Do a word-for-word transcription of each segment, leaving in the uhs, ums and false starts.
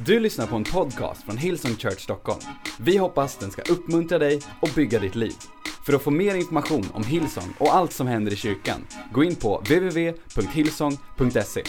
Du lyssnar på en podcast från Hillsong Church Stockholm. Vi hoppas den ska uppmuntra dig och bygga ditt liv. För att få mer information om Hillsong och allt som händer i kyrkan, gå in på w w w punkt hillsong punkt se.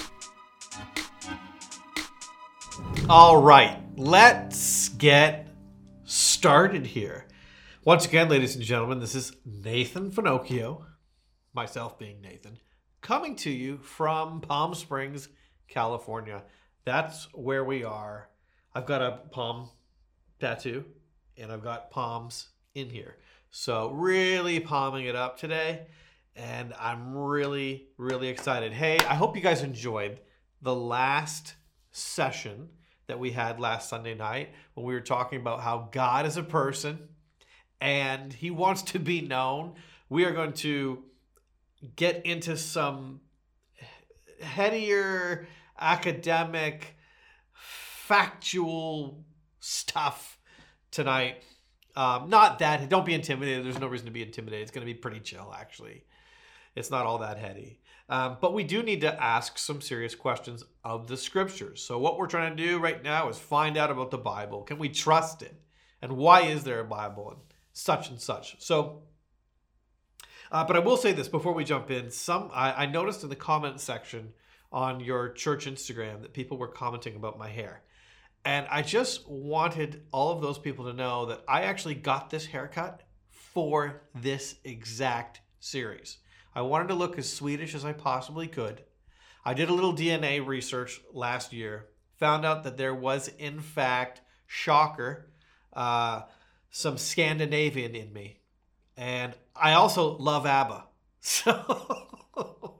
All right, let's get started here. Once again, ladies and gentlemen, this is Nathan Finocchio, myself being Nathan, coming to you from Palm Springs, California. That's where we are. I've got a palm tattoo, and I've got palms in here. So really palming it up today, and I'm really, really excited. Hey, I hope you guys enjoyed the last session that we had last Sunday night when we were talking about how God is a person and he wants to be known. We are going to get into some headier, academic, factual stuff tonight. Um, not that, don't be intimidated. There's no reason to be intimidated. It's going to be pretty chill, actually. It's not all that heady. Um, but we do need to ask some serious questions of the scriptures. So what we're trying to do right now is find out about the Bible. Can we trust it? And why is there a Bible? And such and such. So, uh, but I will say this before we jump in. Some I, I noticed in the comment section on your church Instagram that people were commenting about my hair. And I just wanted all of those people to know that I actually got this haircut for this exact series. I wanted to look as Swedish as I possibly could. I did a little D N A research last year, found out that there was, in fact, shocker, uh, some Scandinavian in me. And I also love ABBA. So...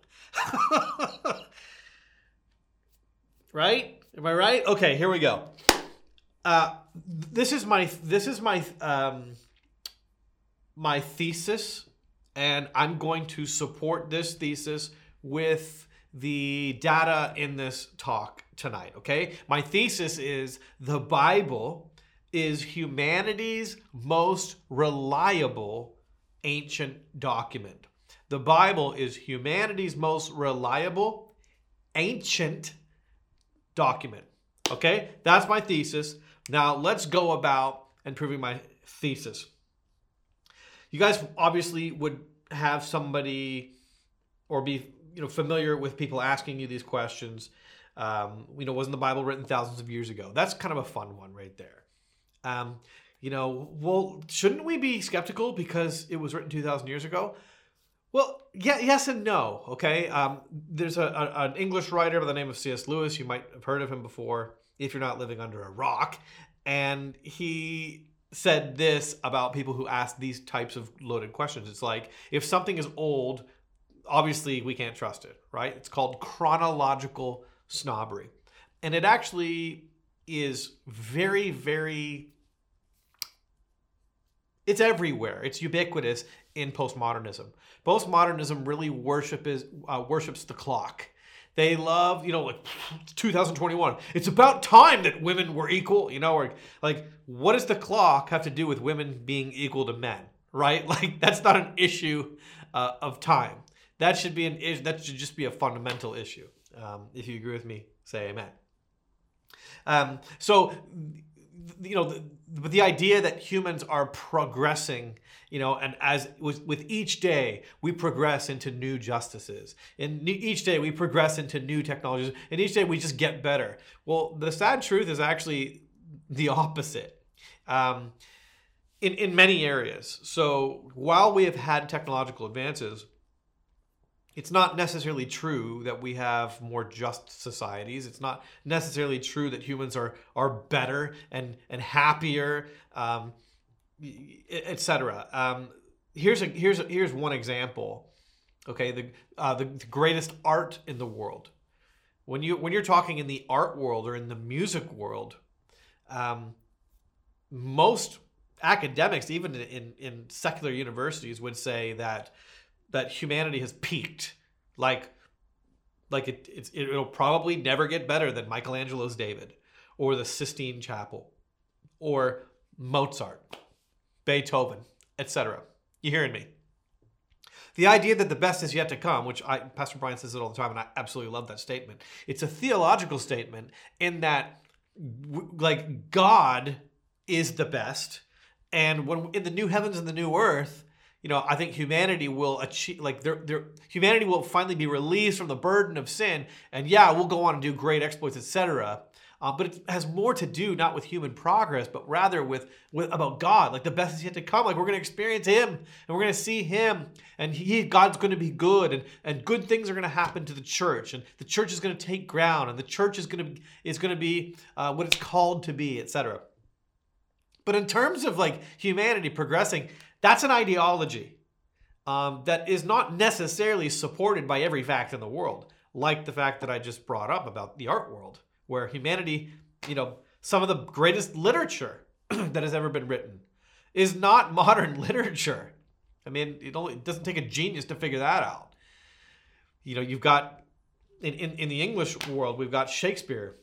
Right? Am I right? Okay, here we go. Uh, this is my this is my um, my thesis, and I'm going to support this thesis with the data in this talk tonight. Okay, my thesis is the Bible is humanity's most reliable ancient document. The Bible is humanity's most reliable ancient document. Okay, that's my thesis. Now let's go about and proving my thesis. You guys obviously would have somebody or be you know familiar with people asking you these questions. Um, you know, wasn't the Bible written thousands of years ago? That's kind of a fun one right there. Um, you know, well, shouldn't we be skeptical because it was written two thousand years ago? Well, yeah, yes and no, okay? Um, there's a, a, an English writer by the name of C S Lewis. You might have heard of him before if you're not living under a rock. And he said this about people who ask these types of loaded questions. It's like, if something is old, obviously we can't trust it, right? It's called chronological snobbery. And it actually is very, very... It's everywhere. It's ubiquitous in postmodernism. Postmodernism really worship is, uh, worships the clock. They love, you know, like two thousand twenty-one. It's about time that women were equal, you know, or like, what does the clock have to do with women being equal to men, right? Like, that's not an issue uh, of time. That should be an issue. That should just be a fundamental issue. Um, if you agree with me, say amen. Um, so, you know, the, but the idea that humans are progressing, you know, and as with, with each day we progress into new justices, and each day we progress into new technologies, and each day we just get better. Well, the sad truth is actually the opposite um, in in many areas. So while we have had technological advances, it's not necessarily true that we have more just societies. It's not necessarily true that humans are are better and and happier, um, et cetera. Um, here's a here's a, here's one example. Okay, the, uh, the the greatest art in the world. When you when you're talking in the art world or in the music world, um, most academics, even in in secular universities, would say that. that humanity has peaked. Like, like it, it's, it'll probably never get better than Michelangelo's David or the Sistine Chapel or Mozart, Beethoven, et cetera. You hearing me? The idea that the best is yet to come, which I, Pastor Brian says it all the time, and I absolutely love that statement. It's a theological statement in that w- like God is the best. And when in the new heavens and the new earth, you know, I think humanity will achieve, like, their their humanity will finally be released from the burden of sin. And yeah, we'll go on and do great exploits, et cetera. Uh, but it has more to do not with human progress, but rather with, with about God. Like the best is yet to come. Like we're going to experience Him, and we're going to see Him, and He God's going to be good, and, and good things are going to happen to the church, and the church is going to take ground, and the church is going to is going to be uh, what it's called to be, et cetera. But in terms of like humanity progressing, that's an ideology um, that is not necessarily supported by every fact in the world, like the fact that I just brought up about the art world, where humanity, you know, some of the greatest literature that has ever been written is not modern literature. I mean, it only it doesn't take a genius to figure that out. You know, you've got, in, in, in the English world, we've got Shakespeare,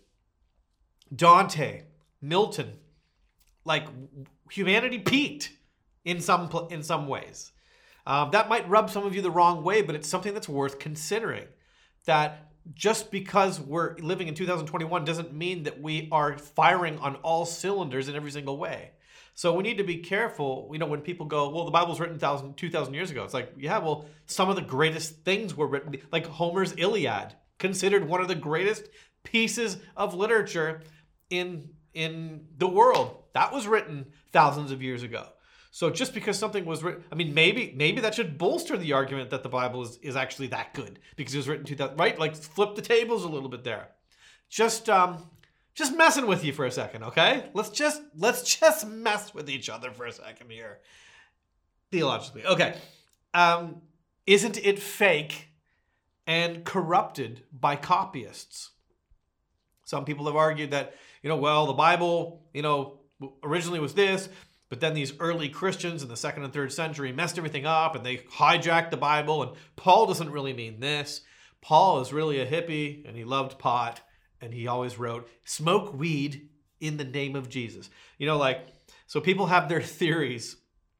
Dante, Milton. Like, humanity peaked in some in some ways. Um, that might rub some of you the wrong way, but it's something that's worth considering. That just because we're living in two thousand twenty-one doesn't mean that we are firing on all cylinders in every single way. So we need to be careful, you know, when people go, well, the Bible's written two thousand years ago. It's like, yeah, well, some of the greatest things were written, like Homer's Iliad, considered one of the greatest pieces of literature in, in the world. That was written thousands of years ago. So just because something was written, I mean, maybe maybe that should bolster the argument that the Bible is, is actually that good because it was written two thousand, right? Like flip the tables a little bit there. Just um, just messing with you for a second, okay? Let's just let's just mess with each other for a second here, theologically. Okay, um, isn't it fake and corrupted by copyists? Some people have argued that, you know, well, the Bible, you know, originally was this. But then these early Christians in the second and third century messed everything up and they hijacked the Bible. And Paul doesn't really mean this. Paul is really a hippie and he loved pot. And he always wrote, smoke weed in the name of Jesus. You know, like, so people have their theories.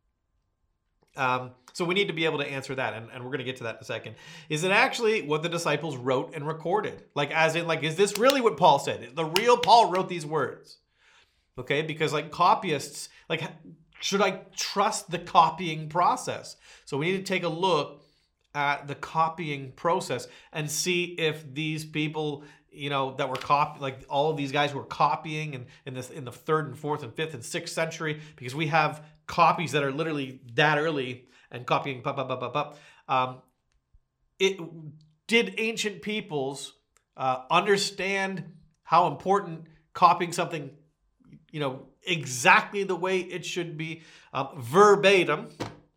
Um, so we need to be able to answer that. And, and we're going to get to that in a second. Is it actually what the disciples wrote and recorded? Like, as in, like, is this really what Paul said? The real Paul wrote these words. Okay, because like copyists, like, should I trust the copying process? So we need to take a look at the copying process and see if these people, you know, that were copy, like all of these guys who were copying in, in this in the third and fourth and fifth and sixth century, because we have copies that are literally that early and copying, pop, pop, pop, pop, pop. Um, it did ancient peoples uh, understand how important copying something, you know, exactly the way it should be, um, verbatim.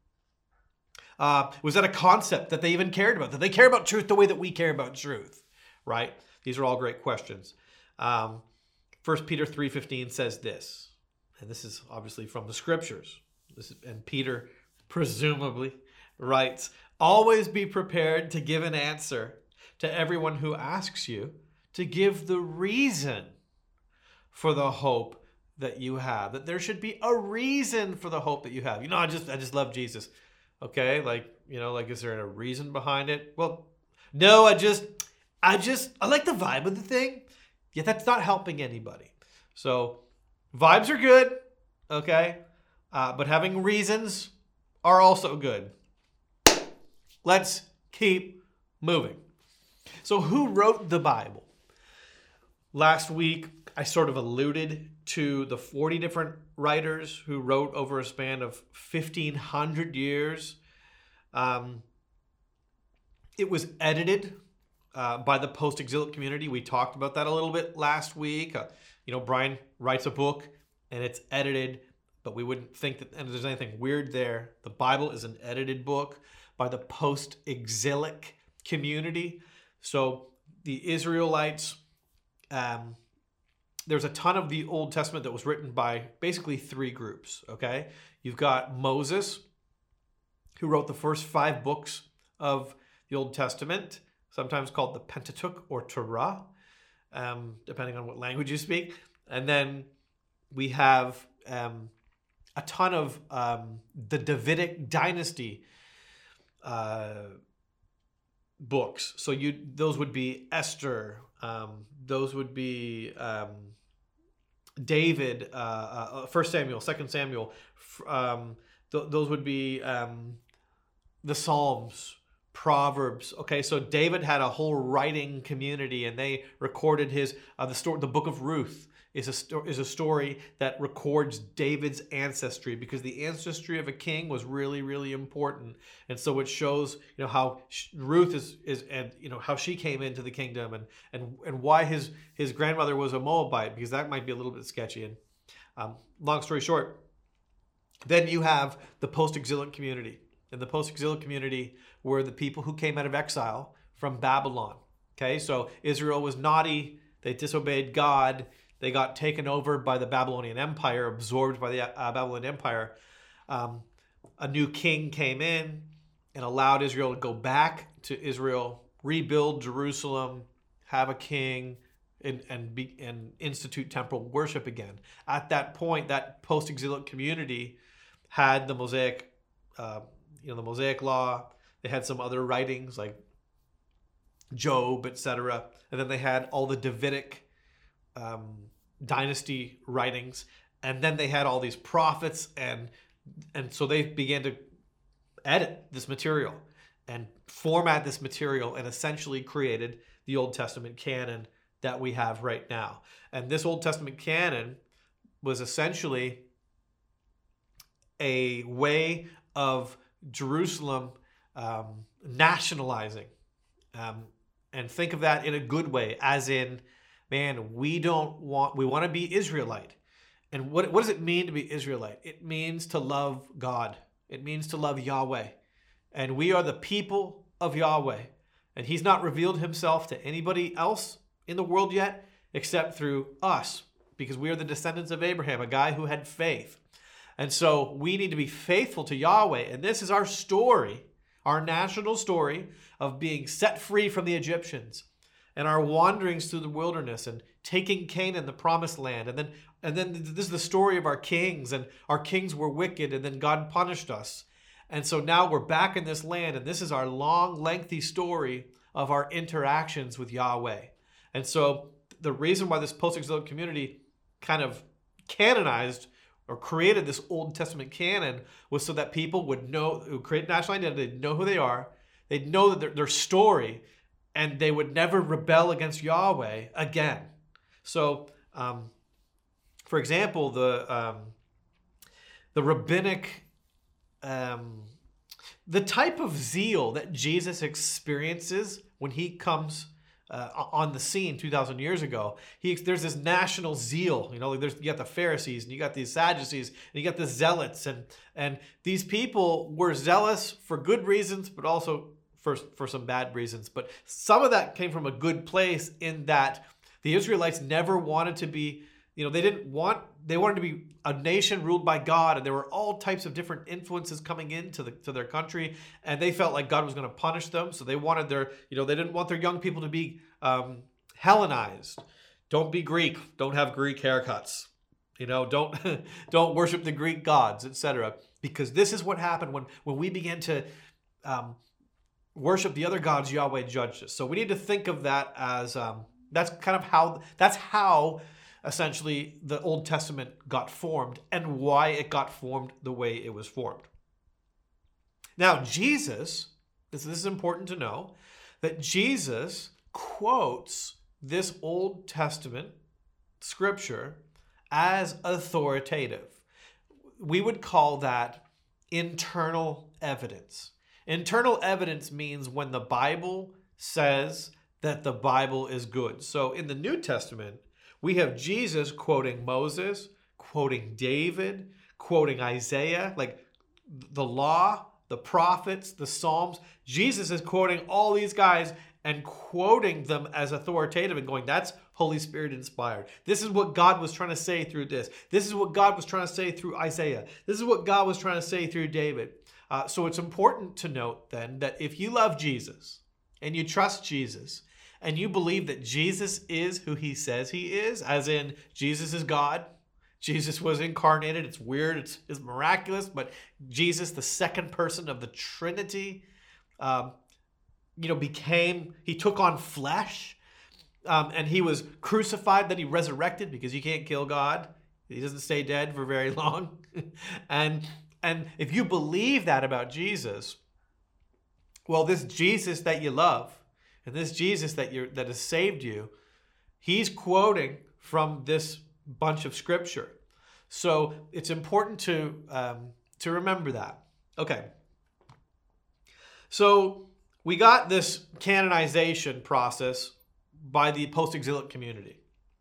Uh, was that a concept that they even cared about? Did they care about truth the way that we care about truth? Right? These are all great questions. Um, First Peter three fifteen says this, and this is obviously from the scriptures. This is, and Peter presumably writes, always be prepared to give an answer to everyone who asks you, to give the reason for the hope that you have, that there should be a reason for the hope that you have. You know, I just, I just love Jesus. Okay. Like, you know, like, is there a reason behind it? Well, no, I just, I just, I like the vibe of the thing. Yet that's not helping anybody. So vibes are good. Okay. Uh, but having reasons are also good. Let's keep moving. So who wrote the Bible? Last week, I sort of alluded to the forty different writers who wrote over a span of fifteen hundred years. Um, it was edited uh, by the post-exilic community. We talked about that a little bit last week. Uh, you know, Brian writes a book and it's edited, but we wouldn't think that and there's anything weird there. The Bible is an edited book by the post-exilic community. So the Israelites, um, there's a ton of the Old Testament that was written by basically three groups, okay? You've got Moses, who wrote the first five books of the Old Testament, sometimes called the Pentateuch or Torah, um, depending on what language you speak. And then we have um, a ton of um, the Davidic dynasty uh, books. So you those would be Esther, um, those would be um, David, uh, uh, First Samuel, Second Samuel, um, th- those would be um, the Psalms, Proverbs. Okay, so David had a whole writing community, and they recorded his uh, the story. The Book of Ruth is a sto- is a story that records David's ancestry, because the ancestry of a king was really really important, and so it shows you know how Ruth is is and you know how she came into the kingdom, and and and why his his grandmother was a Moabite, because that might be a little bit sketchy. And um, long story short, then you have the post-exilic community, and the post-exilic community were the people who came out of exile from Babylon. Okay, so Israel was naughty; they disobeyed God. They got taken over by the Babylonian Empire, absorbed by the uh, Babylonian Empire. Um, a new king came in and allowed Israel to go back to Israel, rebuild Jerusalem, have a king, and and, be, and institute temple worship again. At that point, that post-exilic community had the Mosaic, uh, you know, the Mosaic Law. They had some other writings like Job, et cetera, and then they had all the Davidic Um, dynasty writings, and then they had all these prophets, and and so they began to edit this material and format this material, and essentially created the Old Testament canon that we have right now. And this Old Testament canon was essentially a way of Jerusalem um, nationalizing, um, and think of that in a good way, as in, man, we don't want, we want to be Israelite. And what, what does it mean to be Israelite? It means to love God. It means to love Yahweh. And we are the people of Yahweh. And he's not revealed himself to anybody else in the world yet, except through us, because we are the descendants of Abraham, a guy who had faith. And so we need to be faithful to Yahweh. And this is our story, our national story of being set free from the Egyptians, and our wanderings through the wilderness, and taking Canaan, the promised land. And then and then this is the story of our kings, and our kings were wicked, and then God punished us. And so now we're back in this land, and this is our long, lengthy story of our interactions with Yahweh. And so the reason why this post-exilic community kind of canonized or created this Old Testament canon was so that people would know, who create national identity, they'd know who they are, they'd know that their, their story, and they would never rebel against Yahweh again. So, um, for example, the um, the rabbinic, um, the type of zeal that Jesus experiences when he comes uh, on the scene two thousand years ago, he there's this national zeal. You know, like there's you got the Pharisees, and you got these Sadducees, and you got the Zealots, and and these people were zealous for good reasons, but also for, for some bad reasons. But some of that came from a good place, in that the Israelites never wanted to be, you know, they didn't want, they wanted to be a nation ruled by God, and there were all types of different influences coming into the, to their country, and they felt like God was going to punish them. So they wanted their, you know, they didn't want their young people to be um, Hellenized. Don't be Greek. Don't have Greek haircuts. You know, don't don't worship the Greek gods, et cetera. Because this is what happened when when we began to um, worship the other gods. Yahweh judged us. So we need to think of that as um, that's kind of how that's how essentially the Old Testament got formed, and why it got formed the way it was formed. Now, Jesus, this, this is important to know, that Jesus quotes this Old Testament scripture as authoritative. We would call that internal evidence. Internal evidence means when the Bible says that the Bible is good. So in the New Testament, we have Jesus quoting Moses, quoting David, quoting Isaiah, like the law, the prophets, the Psalms. Jesus is quoting all these guys and quoting them as authoritative and going, that's Holy Spirit inspired. This is what God was trying to say through this. This is what God was trying to say through Isaiah. This is what God was trying to say through David. Uh, so it's important to note then that if you love Jesus and you trust Jesus and you believe that Jesus is who he says he is, as in Jesus is God, Jesus was incarnated, it's weird, it's, it's miraculous, but Jesus, the second person of the Trinity, um, you know, became, he took on flesh. Um, and he was crucified, then he resurrected, because you can't kill God. He doesn't stay dead for very long. and and if you believe that about Jesus, well, this Jesus that you love, and this Jesus that you that has saved you, he's quoting from this bunch of scripture. So it's important to um, to remember that. Okay. So we got this canonization process by the post-exilic community.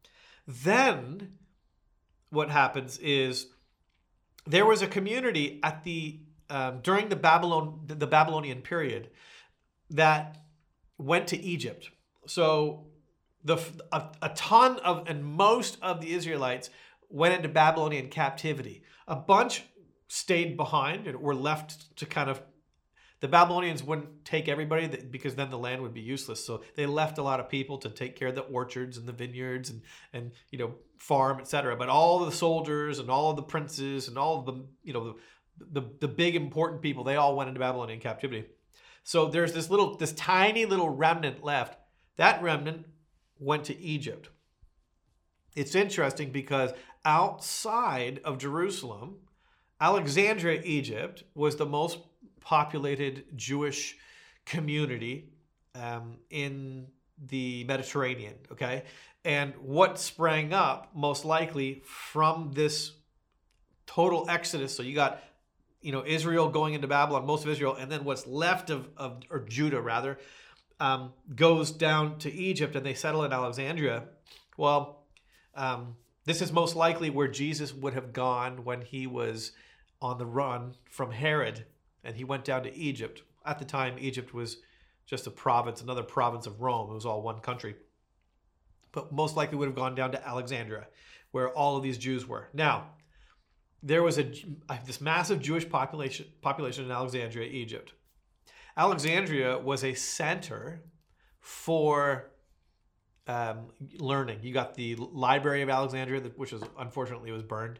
Then what happens is there was a community at the um, during the Babylon the Babylonian period that went to Egypt. So the a, a ton of and most of the Israelites went into Babylonian captivity. A bunch stayed behind and were left to kind of. The Babylonians wouldn't take everybody because then the land would be useless. So they left a lot of people to take care of the orchards and the vineyards and, and you know, farm, et cetera. But all the soldiers and all of the princes and all of the, you know, the, the, the big important people, they all went into Babylonian captivity. So there's this little, this tiny little remnant left. That remnant went to Egypt. It's interesting because outside of Jerusalem, Alexandria, Egypt was the most populated Jewish community um, in the Mediterranean, okay? And what sprang up most likely from this total exodus, so you got, you know, Israel going into Babylon, most of Israel, and then what's left of, of or Judah rather, um, goes down to Egypt and they settle in Alexandria. Well, um, this is most likely where Jesus would have gone when he was on the run from Herod. And he went down to Egypt. At the time, Egypt was just a province, another province of Rome. It was all one country. But most likely would have gone down to Alexandria, where all of these Jews were. Now, there was a this massive Jewish population population in Alexandria, Egypt. Alexandria was a center for um, learning. You got the Library of Alexandria, which was unfortunately was burned.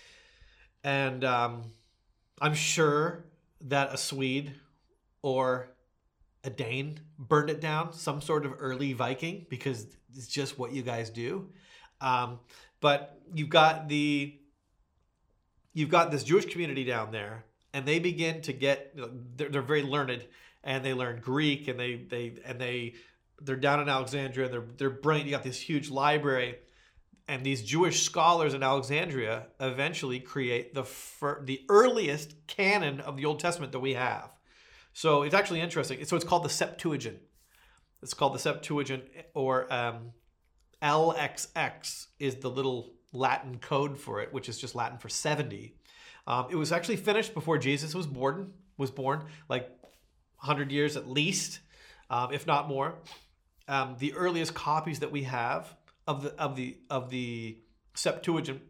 And um, I'm sure that a Swede or a Dane burned it down, some sort of early Viking, because it's just what you guys do. Um, but you've got the you've got this Jewish community down there, and they begin to get you know, they're, they're very learned, and they learn Greek, and they they and they they're down in Alexandria. They're they're brilliant. You got this huge library. And these Jewish scholars in Alexandria eventually create the fir- the earliest canon of the Old Testament that we have. So it's actually interesting. So it's called the Septuagint. It's called the Septuagint, or um, L X X is the little Latin code for it, which is just Latin for seventy. Um, it was actually finished before Jesus was born, was born, like one hundred years at least, um, if not more. Um, the earliest copies that we have of the of the of the Septuagint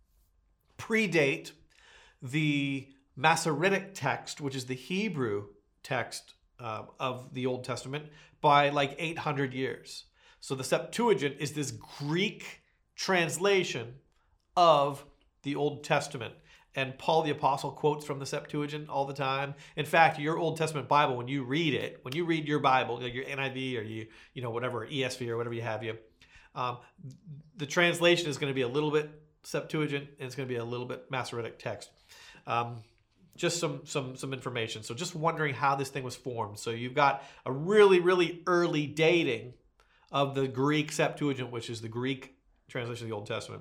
predate the Masoretic text, which is the Hebrew text uh, of the Old Testament, by like eight hundred years. So the Septuagint is this Greek translation of the Old Testament. And Paul the Apostle quotes from the Septuagint all the time. In fact, your Old Testament Bible, when you read it, when you read your Bible, like your N I V or you, you know, whatever, E S V or whatever you have, you, um, the translation is going to be a little bit Septuagint, and it's going to be a little bit Masoretic text. Um, just some some some information. So just wondering how this thing was formed. So you've got a really, really early dating of the Greek Septuagint, which is the Greek translation of the Old Testament.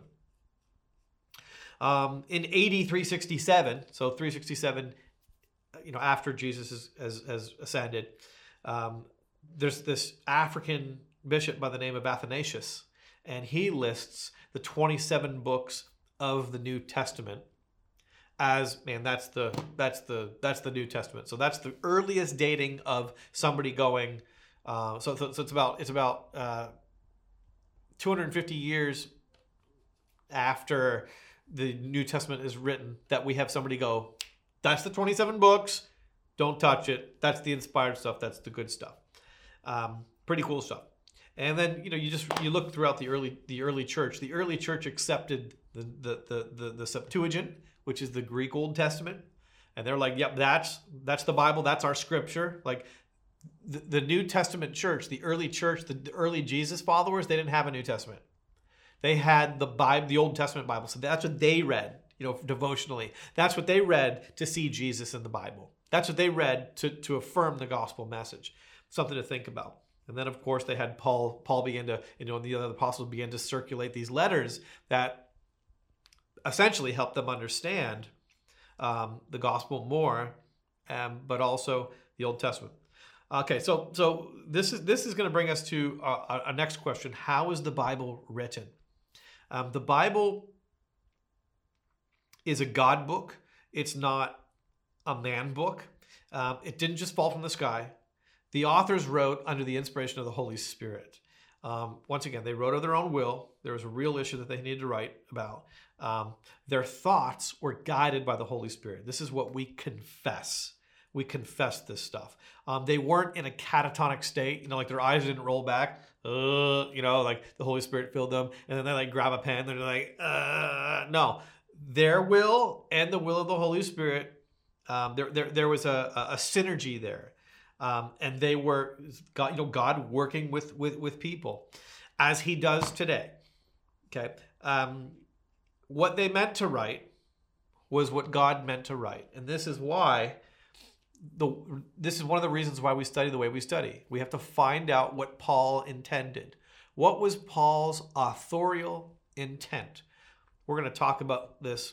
Um, in A D three sixty-seven, so three sixty-seven, you know, after Jesus has, has, has ascended, um, there's this African bishop by the name of Athanasius, and he lists the twenty-seven books of the New Testament as, man, that's the that's the that's the New Testament. So that's the earliest dating of somebody going. Uh, so, so so it's about it's about uh, two hundred fifty years after the New Testament is written that we have somebody go, that's the twenty-seven books, don't touch it. That's the inspired stuff. That's the good stuff. Um, pretty cool stuff. And then, you know, you just you look throughout the early the early church. The early church accepted the the the the, the Septuagint, which is the Greek Old Testament, and they're like, yep, that's that's the Bible. That's our scripture. Like, the, the New Testament church, the early church, the, the early Jesus followers, they didn't have a New Testament. They had the Bible, the Old Testament Bible. So that's what they read, you know, devotionally. That's what they read to see Jesus in the Bible. That's what they read to, to affirm the gospel message. Something to think about. And then, of course, they had Paul. Paul began to, you know, and the other apostles began to circulate these letters that essentially helped them understand um, the gospel more, um, but also the Old Testament. Okay, so so this is this is going to bring us to a, a next question: how is the Bible written? Um, the Bible is a God book. It's not a man book. Um, it didn't just fall from the sky. The authors wrote under the inspiration of the Holy Spirit. Um, once again, they wrote of their own will. There was a real issue that they needed to write about. Um, their thoughts were guided by the Holy Spirit. This is what we confess. We confess this stuff. Um, they weren't in a catatonic state, you know, like their eyes didn't roll back. Uh, you know, like the Holy Spirit filled them, and then they like grab a pen. They're like, uh, no, their will and the will of the Holy Spirit. Um, there, there, there was a, a synergy there, um, and they were, God, you know, God working with with with people, as He does today. Okay, um, what they meant to write was what God meant to write, and this is why. The, this is one of the reasons why we study the way we study. We have to find out what Paul intended. What was Paul's authorial intent? We're going to talk about this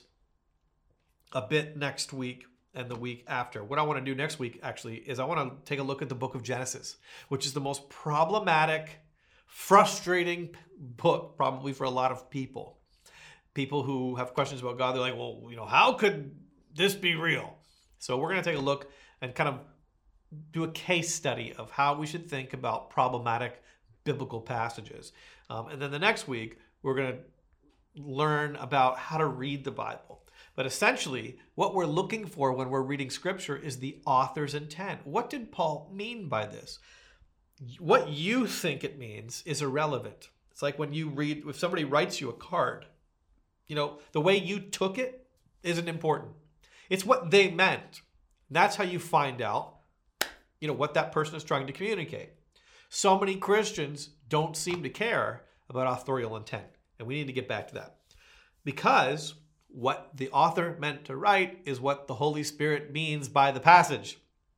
a bit next week and the week after. What I want to do next week, actually, is I want to take a look at the book of Genesis, which is the most problematic, frustrating book probably for a lot of people. People who have questions about God, they're like, well, you know, how could this be real? So we're going to take a look and kind of do a case study of how we should think about problematic biblical passages. Um, and then the next week, we're going to learn about how to read the Bible. But essentially, what we're looking for when we're reading Scripture is the author's intent. What did Paul mean by this? What you think it means is irrelevant. It's like when you read, if somebody writes you a card, you know, the way you took it isn't important. It's what they meant. That's how you find out, you know, what that person is trying to communicate. So many Christians don't seem to care about authorial intent. And we need to get back to that. Because what the author meant to write is what the Holy Spirit means by the passage.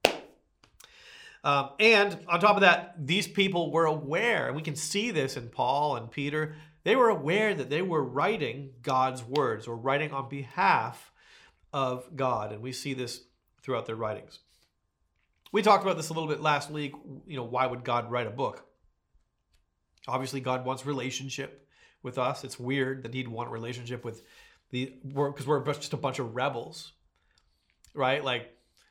Um, and on top of that, these people were aware, and we can see this in Paul and Peter, they were aware that they were writing God's words or writing on behalf of God. And we see this throughout their writings. We talked about this a little bit last week. You know, why would God write a book? Obviously, God wants relationship with us. It's weird that He'd want a relationship with the, because we're just a bunch of rebels, right? Like,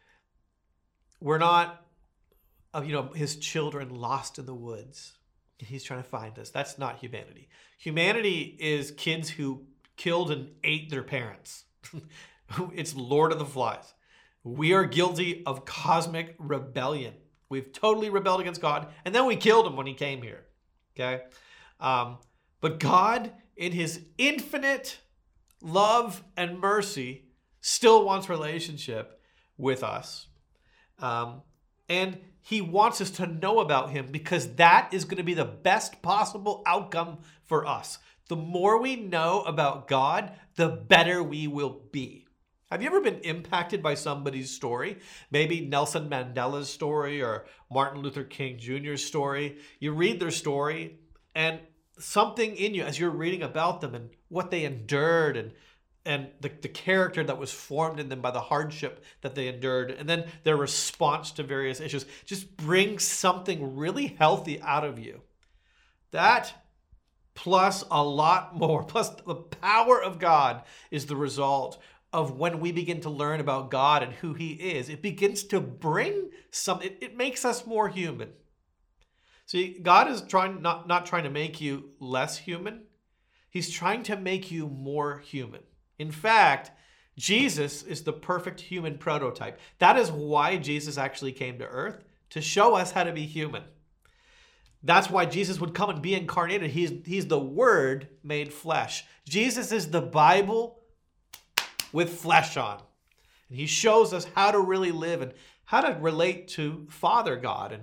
we're not, you know, His children lost in the woods. He's trying to find us. That's not humanity. Humanity is kids who killed and ate their parents. It's Lord of the Flies. We are guilty of cosmic rebellion. We've totally rebelled against God, and then we killed Him when He came here. Okay? Um, but God, in His infinite love and mercy, still wants relationship with us. Um, and He wants us to know about Him because that is going to be the best possible outcome for us. The more we know about God, the better we will be. Have you ever been impacted by somebody's story? Maybe Nelson Mandela's story or Martin Luther King Junior's story. You read their story and something in you as you're reading about them and what they endured and and the, the character that was formed in them by the hardship that they endured and then their response to various issues just brings something really healthy out of you. That plus a lot more, plus the power of God is the result of when we begin to learn about God and who He is. It begins to bring some, it, it makes us more human. See, God is trying not, not trying to make you less human. He's trying to make you more human. In fact, Jesus is the perfect human prototype. That is why Jesus actually came to earth, to show us how to be human. That's why Jesus would come and be incarnated. He's, he's the Word made flesh. Jesus is the Bible with flesh on. And He shows us how to really live and how to relate to Father God. And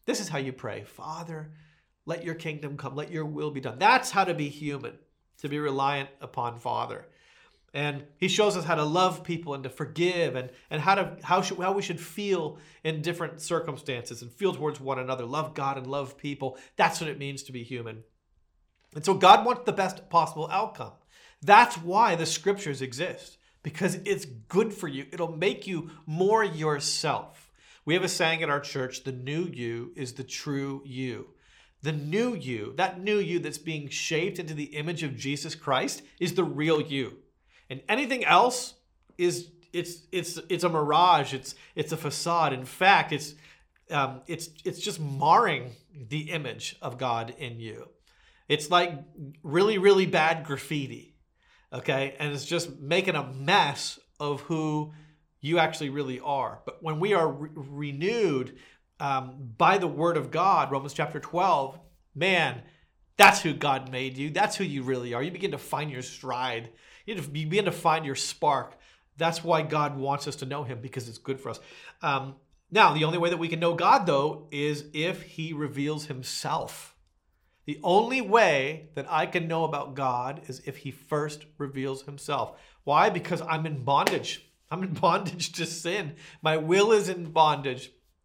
This is how you pray. Father, let your kingdom come. Let your will be done. That's how to be human, to be reliant upon Father. And he shows us how to love people and to forgive and, and how to how should how we should feel in different circumstances and feel towards one another. Love God and love people. That's what it means to be human. And so God wants the best possible outcome. That's why the scriptures exist, because it's good for you. It'll make you more yourself. We have a saying at our church, the new you is the true you. The new you, that new you that's being shaped into the image of Jesus Christ, is the real you. And anything else is it's it's it's a mirage. It's it's a facade. In fact, it's um, it's it's just marring the image of God in you. It's like really really bad graffiti, okay, and it's just making a mess of who you actually really are. But when we are re- renewed um, by the Word of God, Romans chapter twelve, man, that's who God made you. That's who you really are. You begin to find your stride. You begin to find your spark. That's why God wants us to know him, because it's good for us. Um, now, the only way that we can know God, though, is if he reveals himself. The only way that I can know about God is if he first reveals himself. Why? Because I'm in bondage. I'm in bondage to sin. My will is in bondage.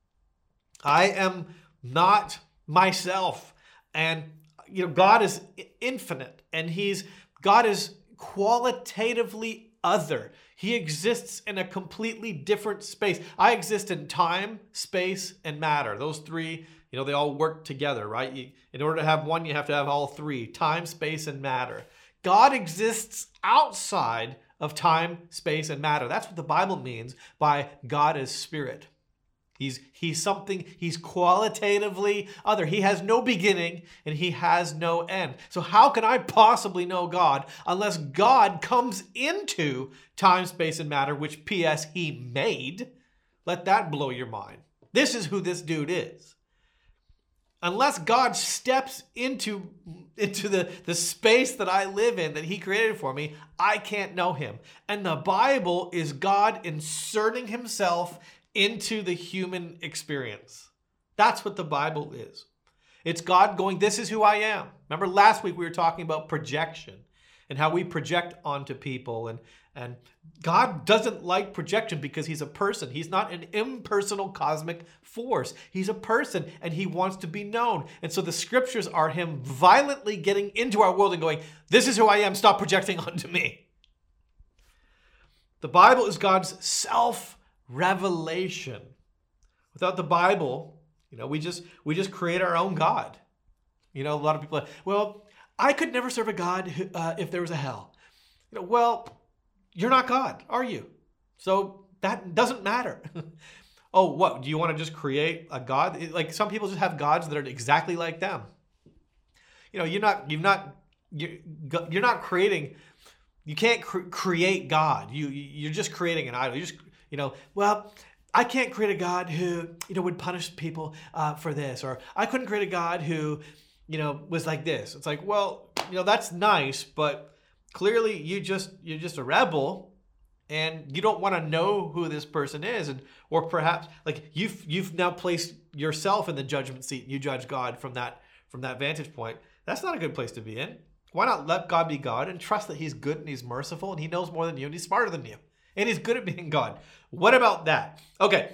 I am not myself. And, you know, God is infinite, and he's, God is qualitatively other. He exists in a completely different space. I exist in time, space, and matter. Those three, you know, they all work together, right? You, in order to have one, you have to have all three: time, space, and matter. God exists outside of time, space, and matter. That's what the Bible means by God as spirit. He's he's something, he's qualitatively other. He has no beginning and he has no end. So how can I possibly know God unless God comes into time, space, and matter, which P S he made? Let that blow your mind. This is who this dude is. Unless God steps into, into the, the space that I live in, that he created for me, I can't know him. And the Bible is God inserting himself into the human experience. That's what the Bible is. It's God going, this is who I am. Remember last week we were talking about projection and how we project onto people. And, and God doesn't like projection because he's a person. He's not an impersonal cosmic force. He's a person and he wants to be known. And so the scriptures are him violently getting into our world and going, this is who I am. Stop projecting onto me. The Bible is God's self revelation. Without the Bible, you know, we just we just create our own God. You know, a lot of people are like, well, I could never serve a God who, uh, if there was a hell. You know, well, you're not God, are you? So that doesn't matter. Oh, what? Do you want to just create a God? Like some people just have gods that are exactly like them. You know, you're not you're not you're, you're not creating. You can't cre- create God. You you're just creating an idol. You just You know, well, I can't create a God who, you know, would punish people uh, for this. Or I couldn't create a God who, you know, was like this. It's like, well, you know, that's nice, but clearly you just, you're just a rebel and you don't want to know who this person is. And, or perhaps like you've, you've now placed yourself in the judgment seat and you judge God from that, from that vantage point. That's not a good place to be in. Why not let God be God and trust that he's good and he's merciful and he knows more than you and he's smarter than you. And he's good at being God. What about that? Okay.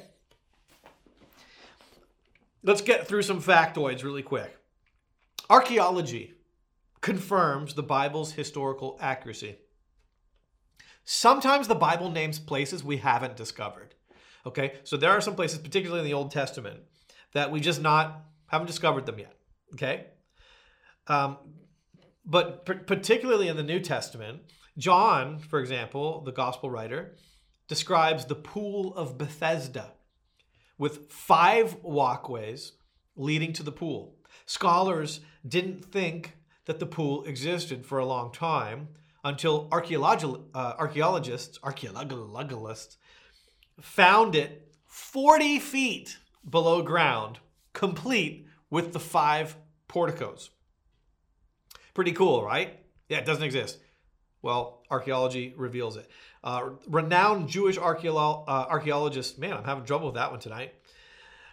Let's get through some factoids really quick. Archaeology confirms the Bible's historical accuracy. Sometimes the Bible names places we haven't discovered. Okay? So there are some places, particularly in the Old Testament, that we just not haven't discovered them yet. Okay? Um, but p- particularly in the New Testament, John, for example, the gospel writer, describes the pool of Bethesda with five walkways leading to the pool. Scholars didn't think that the pool existed for a long time until archaeolog- uh, archaeologists, archaeologists found it forty feet below ground, complete with the five porticos. Pretty cool, right? Yeah, it doesn't exist. Well, archaeology reveals it. Uh, renowned Jewish archeolo- uh, archaeologist, man, I'm having trouble with that one tonight.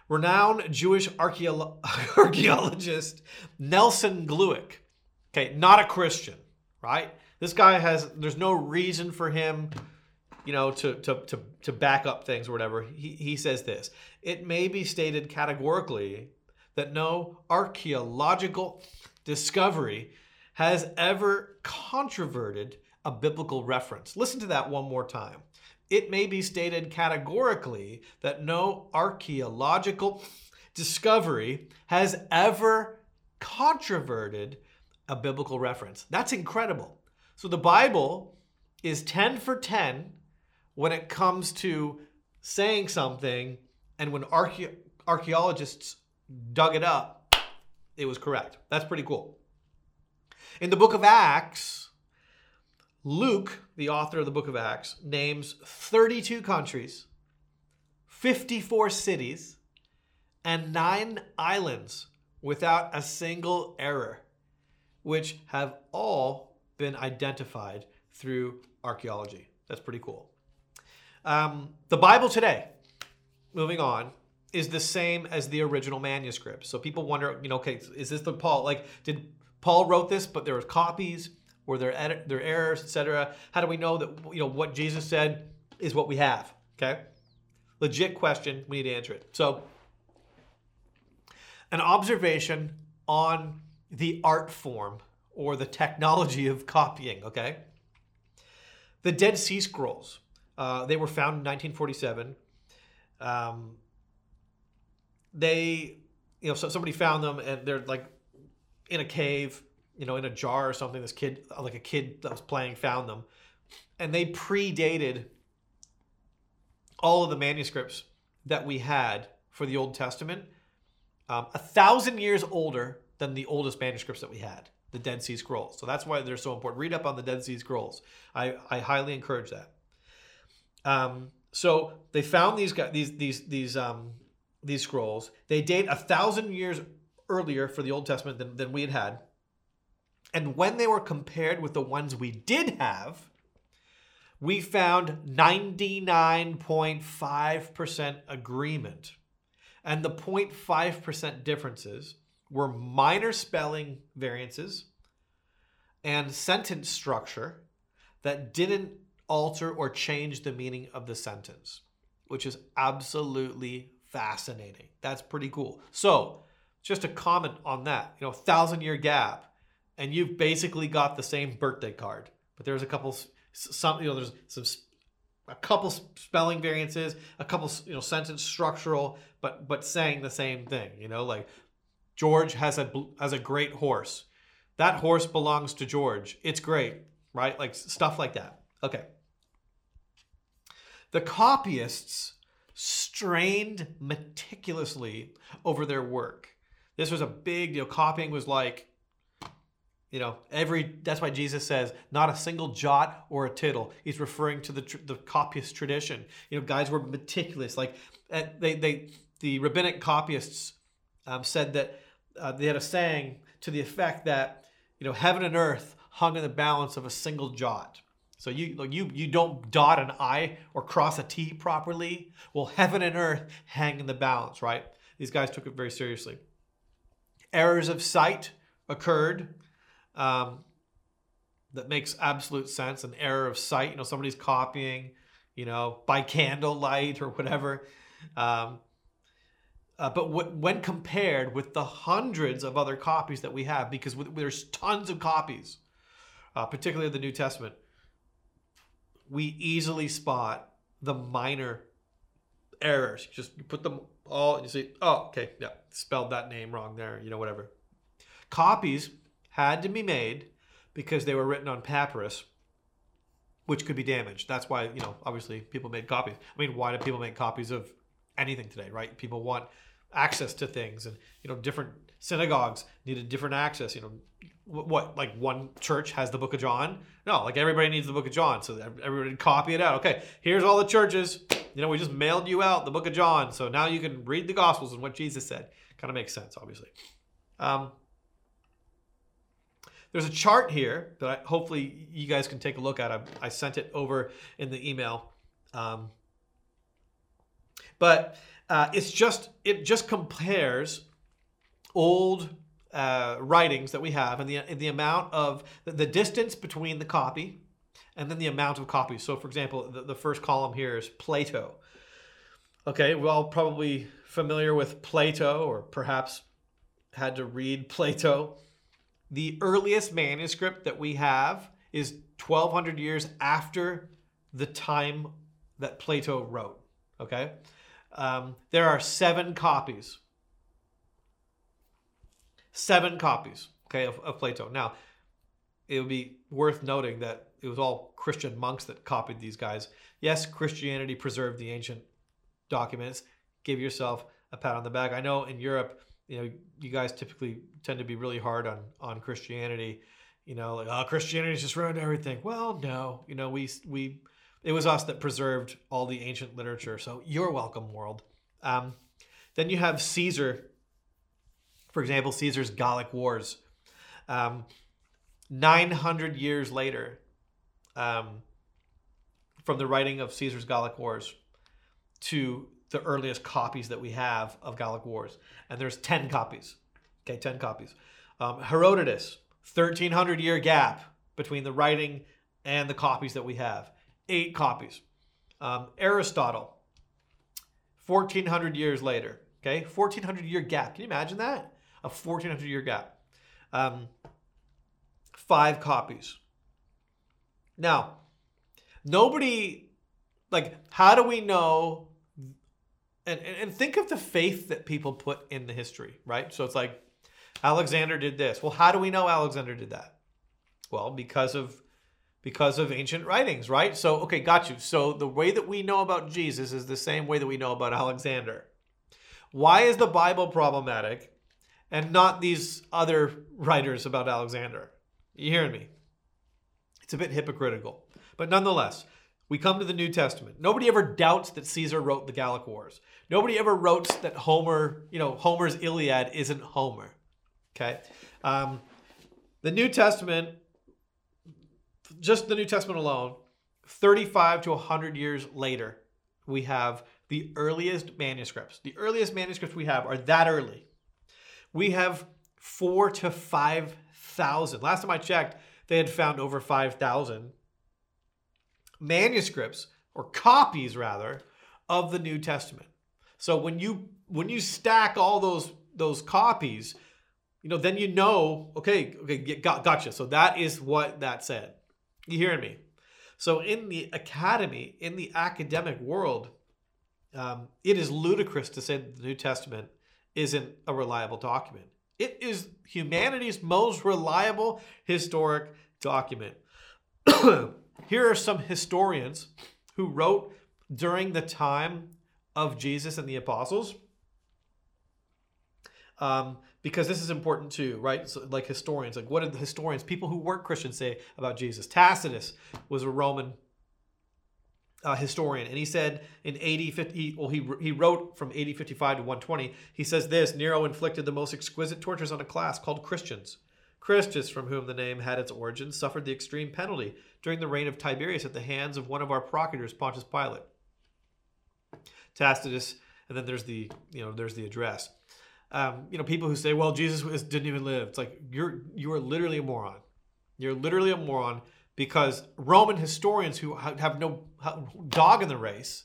Renowned Jewish archeolo- archaeologist Nelson Glueck. Okay, not a Christian, right? This guy has, there's no reason for him, you know, to, to, to, to back up things or whatever. He, he says this: it may be stated categorically that no archaeological discovery has ever controverted a biblical reference. Listen to that one more time. It may be stated categorically that no archaeological discovery has ever controverted a biblical reference. That's incredible. So the Bible is ten for ten when it comes to saying something, and when archae- archaeologists dug it up, it was correct. That's pretty cool. In the book of Acts, Luke, the author of the book of Acts, names thirty-two countries, fifty-four cities, and nine islands without a single error, which have all been identified through archaeology. That's pretty cool. Um, the Bible today, moving on, is the same as the original manuscript. So people wonder, you know, okay, is this the Paul? Like, did Paul wrote this, but there were copies? Were there edit, there errors, et cetera? How do we know that, you know, what Jesus said is what we have? Okay, legit question. We need to answer it. So, an observation on the art form or the technology of copying. Okay, the Dead Sea Scrolls. Uh, they were found in nineteen forty-seven. Um, they, you know, so somebody found them and they're like in a cave, you know, in a jar or something. This kid, like a kid that was playing, found them. And they predated all of the manuscripts that we had for the Old Testament. Um, a thousand years older than the oldest manuscripts that we had, the Dead Sea Scrolls. So that's why they're so important. Read up on the Dead Sea Scrolls. I, I highly encourage that. Um, so they found these guys, these these these um, these scrolls. They date a thousand years earlier for the Old Testament than, than we had had. And when they were compared with the ones we did have, we found ninety-nine point five percent agreement. And the zero point five percent differences were minor spelling variances and sentence structure that didn't alter or change the meaning of the sentence, which is absolutely fascinating. That's pretty cool. So just a comment on that, you know, thousand year gap, and you've basically got the same birthday card, but there's a couple, some, you know, there's some, a couple spelling variances, a couple, you know, sentence structural, but, but saying the same thing, you know, like George has a, has a great horse. That horse belongs to George. It's great, right? Like stuff like that. Okay. The copyists strained meticulously over their work. This was a big deal. Copying was like, you know, every, that's why Jesus says, not a single jot or a tittle. He's referring to the the copyist tradition. You know, guys were meticulous. Like, they, they the rabbinic copyists um, said that uh, they had a saying to the effect that, you know, heaven and earth hung in the balance of a single jot. So you you you don't dot an I or cross a T properly. Well, heaven and earth hang in the balance, right? These guys took it very seriously. Errors of sight occurred. Um, that makes absolute sense. An error of sight. You know, somebody's copying, you know, by candlelight or whatever. Um, uh, but w- when compared with the hundreds of other copies that we have, because w- there's tons of copies, uh, particularly of the New Testament, we easily spot the minor errors. You just you put them all and you say, oh, okay, yeah, spelled that name wrong there, you know, whatever. Copies had to be made because they were written on papyrus, which could be damaged. That's why, you know, obviously people made copies. I mean, why do people make copies of anything today, right? People want access to things, and, you know, different synagogues needed different access. You know, what, like one church has the book of John? No, like everybody needs the book of John, so everybody copy it out. Okay, here's all the churches. You know, we just mailed you out the book of John, so now you can read the Gospels and what Jesus said. Kind of makes sense, obviously. Um, there's a chart here that I, hopefully you guys can take a look at. I, I sent it over in the email. Um, But uh, it's just it just compares old uh, writings that we have and the and the amount of the, the distance between the copy and then the amount of copies. So, for example, the, the first column here is Plato. Okay, we're all probably familiar with Plato, or perhaps had to read Plato. The earliest manuscript that we have is twelve hundred years after the time that Plato wrote. Okay, um, there are seven copies. Seven copies, okay, of, of Plato. Now, it would be worth noting that it was all Christian monks that copied these guys. Yes, Christianity preserved the ancient documents. Give yourself a pat on the back. I know in Europe, you know, you guys typically tend to be really hard on on Christianity. You know, like, oh, Christianity's just ruined everything. Well, no, you know, we we it was us that preserved all the ancient literature. So you're welcome, world. Um, then you have Caesar. For example, Caesar's Gallic Wars. Um, nine hundred years later, um, from the writing of Caesar's Gallic Wars to the earliest copies that we have of Gallic Wars. And there's ten copies. Okay, ten copies. Um, Herodotus, thirteen hundred year gap between the writing and the copies that we have. Eight copies. Um, Aristotle, fourteen hundred years later. Okay, fourteen hundred year gap. Can you imagine that? A fourteen hundred year gap. Um, five copies. Now, nobody, like, how do we know? And, and think of the faith that people put in the history, right? So it's like, Alexander did this. Well, how do we know Alexander did that? Well, because of because of ancient writings, right? So, okay, got you. So the way that we know about Jesus is the same way that we know about Alexander. Why is the Bible problematic and not these other writers about Alexander? You hearing me? It's a bit hypocritical. But nonetheless, we come to the New Testament. Nobody ever doubts that Caesar wrote the Gallic Wars. Nobody ever wrote that Homer, you know, Homer's Iliad isn't Homer. Okay? Um, the New Testament, just the New Testament alone, thirty-five to one hundred years later, we have the earliest manuscripts. The earliest manuscripts we have are that early. We have four to five thousand. Last time I checked, they had found over five thousand manuscripts, or copies rather, of the New Testament. So when you when you stack all those those copies, you know, then you know, okay, okay, got, gotcha. So that is what that said. You hearing me? So in the academy, in the academic world, um, it is ludicrous to say that the New Testament isn't a reliable document. It is humanity's most reliable historic document. Here are some historians who wrote during the time of Jesus and the apostles. Um, because this is important too, right? So, like historians, like what did the historians, people who weren't Christians, say about Jesus? Tacitus was a Roman uh, historian, and he said in A D fifty, well, he he wrote from A D fifty-five to one twenty. He says this: Nero inflicted the most exquisite tortures on a class called Christians. Christus, from whom the name had its origin, suffered the extreme penalty during the reign of Tiberius at the hands of one of our procurators, Pontius Pilate. Tacitus, and then there's the you know there's the address. Um, you know, people who say, well, Jesus was, didn't even live. It's like, you're you are literally a moron. You're literally a moron, because Roman historians who have no dog in the race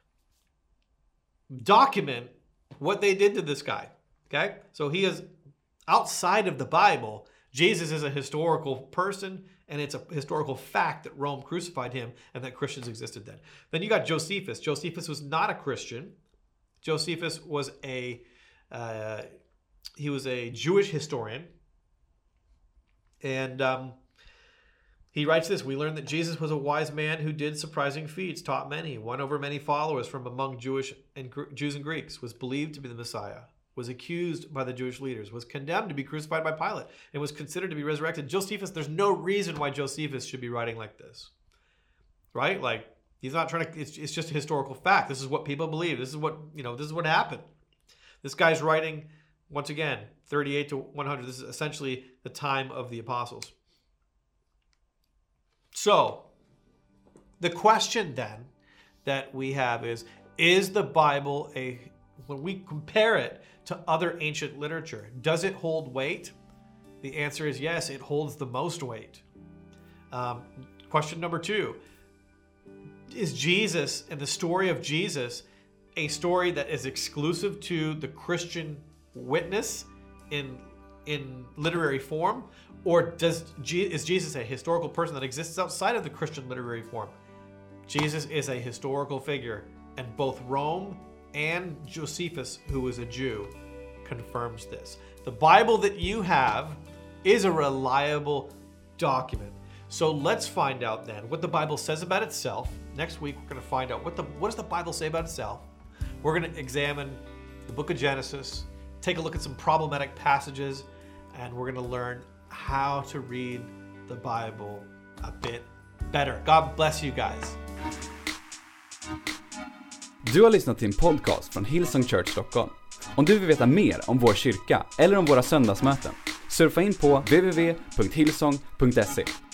document what they did to this guy. Okay? So he is outside of the Bible. Jesus is a historical person, and it's a historical fact that Rome crucified him and that Christians existed then. Then you got Josephus. Josephus was not a Christian. Josephus was a Uh, he was a Jewish historian, and um, he writes this: we learn that Jesus was a wise man who did surprising feats, taught many, won over many followers from among Jewish and Jews and Greeks, was believed to be the Messiah, was accused by the Jewish leaders, was condemned to be crucified by Pilate, and was considered to be resurrected. Josephus, there's no reason why Josephus should be writing like this, right? Like, he's not trying to. It's, it's just a historical fact. This is what people believe. This is what you know. This is what happened. This guy's writing, once again, thirty-eight to one hundred. This is essentially the time of the apostles. So, the question then that we have is, Is the Bible a, when we compare it to other ancient literature, does it hold weight? The answer is yes, it holds the most weight. Um, question number two, is Jesus and the story of Jesus a story that is exclusive to the Christian witness in in literary form, or does is Jesus a historical person that exists outside of the Christian literary form? Jesus is a historical figure, and both Rome and Josephus, who was a Jew, confirms this. The Bible that you have is a reliable document. So let's find out then what the Bible says about itself. Next week we're going to find out what the what does the Bible say about itself. We're going to examine the book of Genesis, take a look at some problematic passages, and we're going to learn how to read the Bible a bit better. God bless you guys. Du har lyssnat till en podcast från Hillsong Church Stockholm. Om du vill veta mer om vår kyrka eller om våra söndagsmöten, surfa in på w w w punkt hillsong punkt se.